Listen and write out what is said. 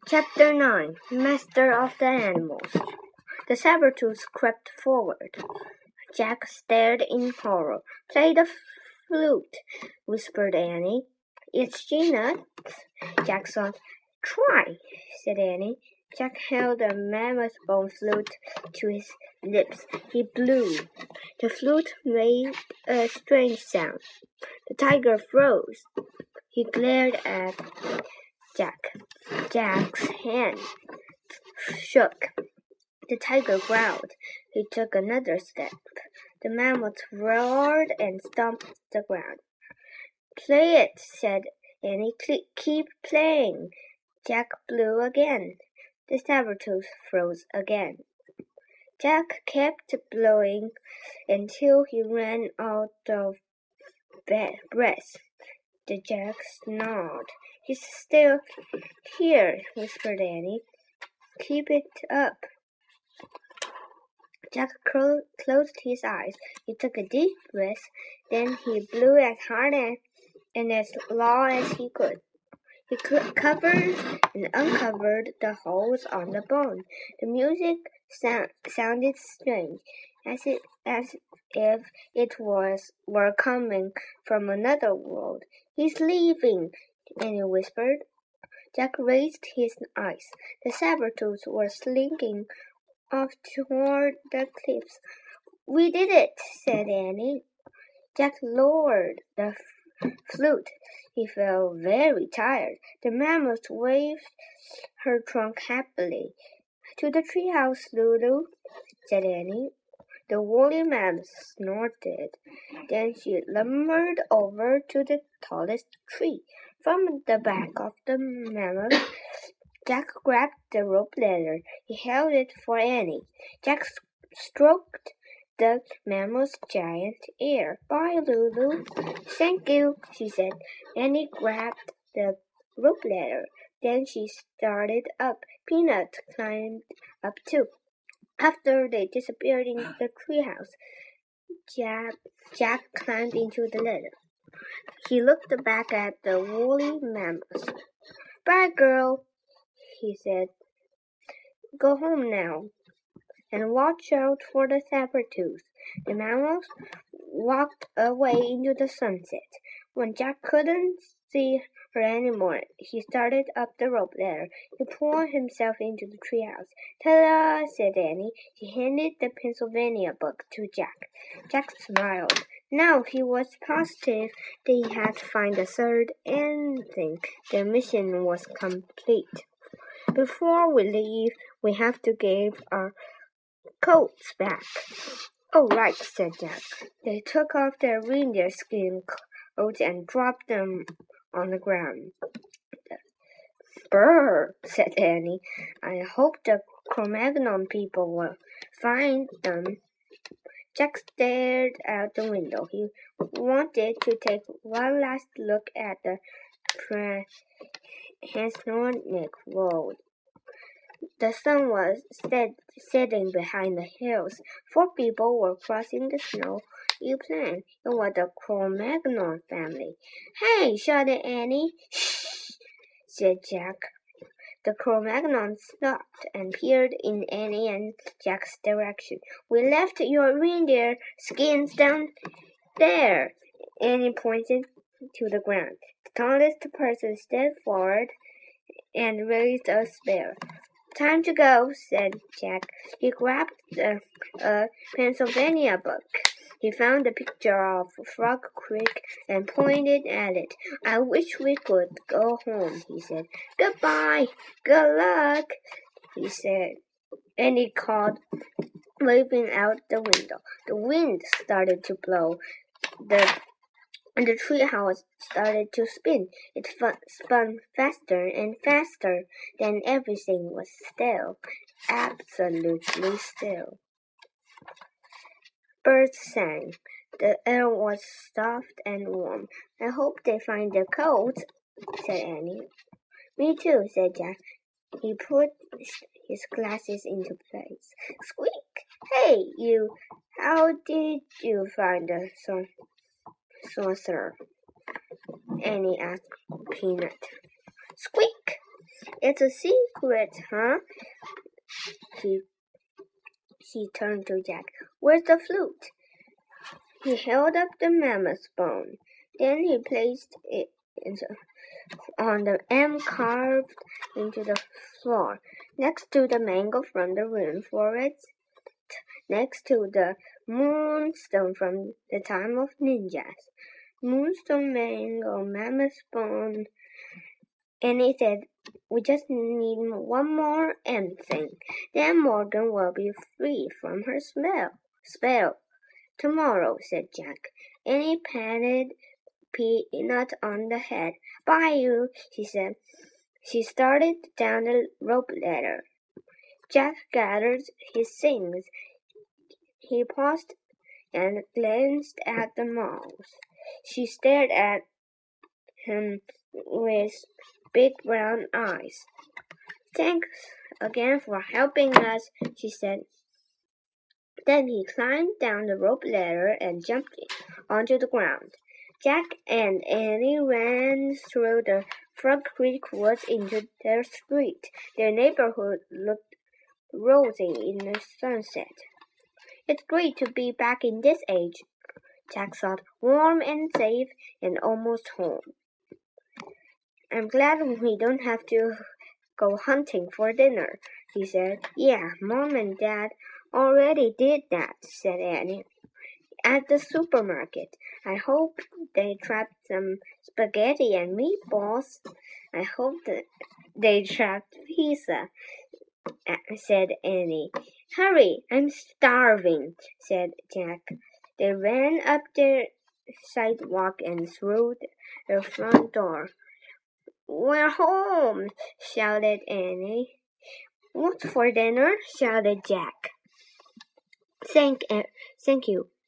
Chapter 9 Master of the Animals. The saber-tooth crept forward. Jack stared in horror. Play the flute, whispered Annie. It's Gina. Jack thought. Try, said Annie. Jack held the mammoth bone flute to his lips. He blew. The flute made a strange sound. The tiger froze. He glared at Jack. Jack's hand shook. The tiger growled. He took another step. The mammoth roared and stomped the ground. Play it, said Annie. Keep playing. Jack blew again. The saber-tooth froze again. Jack kept blowing until he ran out of breath. The Jack snarled. He's still here, whispered Annie. Keep it up. Jack closed his eyes. He took a deep breath. Then he blew as hard and as loud as he could. He covered and uncovered the holes on the bone. The music sounded strange, as if it were coming from another world. He's leaving, Annie whispered. Jack raised his eyes. The saber-tooth were slinking off toward the cliffs. We did it, said Annie. Jack lowered the flute. He felt very tired. The mammoth waved her trunk happily. To the treehouse, Lulu, said Annie. The woolly mammoth snorted. Then she lumbered over to the tallest tree. From the back of the mammoth, Jack grabbed the rope ladder. He held it for Annie. Jack stroked the mammoth's giant ear. Bye, Lulu. Thank you, she said. Annie grabbed the rope ladder. Then she started up. Peanut climbed up too. After they disappeared in the treehouse, Jack climbed into the ladder. He looked back at the woolly mammoth. Bye, girl, he said. Go home now, and watch out for the saber-tooth. The mammoth walked away into the sunset. When Jack couldn't see her anymore, he started up the rope ladder. He pulled himself into the treehouse. Ta-da, said Annie. She handed the Pennsylvania book to Jack. Jack smiled. Now he was positive that he had to find the third ending. The mission was complete. Before we leave, we have to give our coats back. Oh, right, said Jack. They took off their reindeer skin coats and dropped them on the ground. Brr, said Annie. I hope the Cro-Magnon people will find them. Jack stared out the window. He wanted to take one last look at the Transnornic Road. The sun was setting behind the hills. 4 people were crossing the snow. You planned. It was the Cro-Magnon family. Hey, shouted Annie. Shh, said Jack. The Cro-Magnon stopped and peered in Annie and Jack's direction. We left your reindeer skins down there. Annie pointed to the ground. The tallest person stepped forward and raised a spear. Time to go, said Jack. He grabbed a Pennsylvania book. He found a picture of Frog Creek and pointed at it. I wish we could go home, he said. Goodbye. Good luck, he said. And he called, waving out the window. The wind started to blow. The treehouse started to spin. It spun faster and faster. Then everything was still, absolutely still. Birds sang. The air was soft and warm. I hope they find their coats, said Annie. Me too, said Jack. He put his glasses into place. Squeak! Hey, you! How did you find the saucer? Annie asked Peanut. Squeak! It's a secret, huh? He turned to Jack. Where's the flute? He held up the mammoth bone. Then he placed it on the M carved into the floor, next to the mango from the rune forest, next to the moonstone from the time of ninjas. Moonstone, mango, mammoth bone. And he said, we just need one more M thing. Then Morgan will be free from her spell. Tomorrow, said Jack. And he patted Peanut on the head. Bye, you, she said. She started down the rope ladder. Jack gathered his things. He paused and glanced at the mouse. She stared at him with big brown eyes. Thanks again for helping us, she said. Then he climbed down the rope ladder and jumped onto the ground. Jack and Annie ran through the Frog Creek woods into their street. Their neighborhood looked rosy in the sunset. It's great to be back in this age, Jack thought, warm and safe and almost home. I'm glad we don't have to go hunting for dinner, he said. Yeah, Mom and Dad already did that, said Annie. At the supermarket. I hope they trapped some spaghetti and meatballs. I hope that they trapped pizza, said Annie. Hurry, I'm starving, said Jack. They ran up the sidewalk and through the front door. We're home, shouted Annie. What's for dinner? Shouted Jack. Thank you.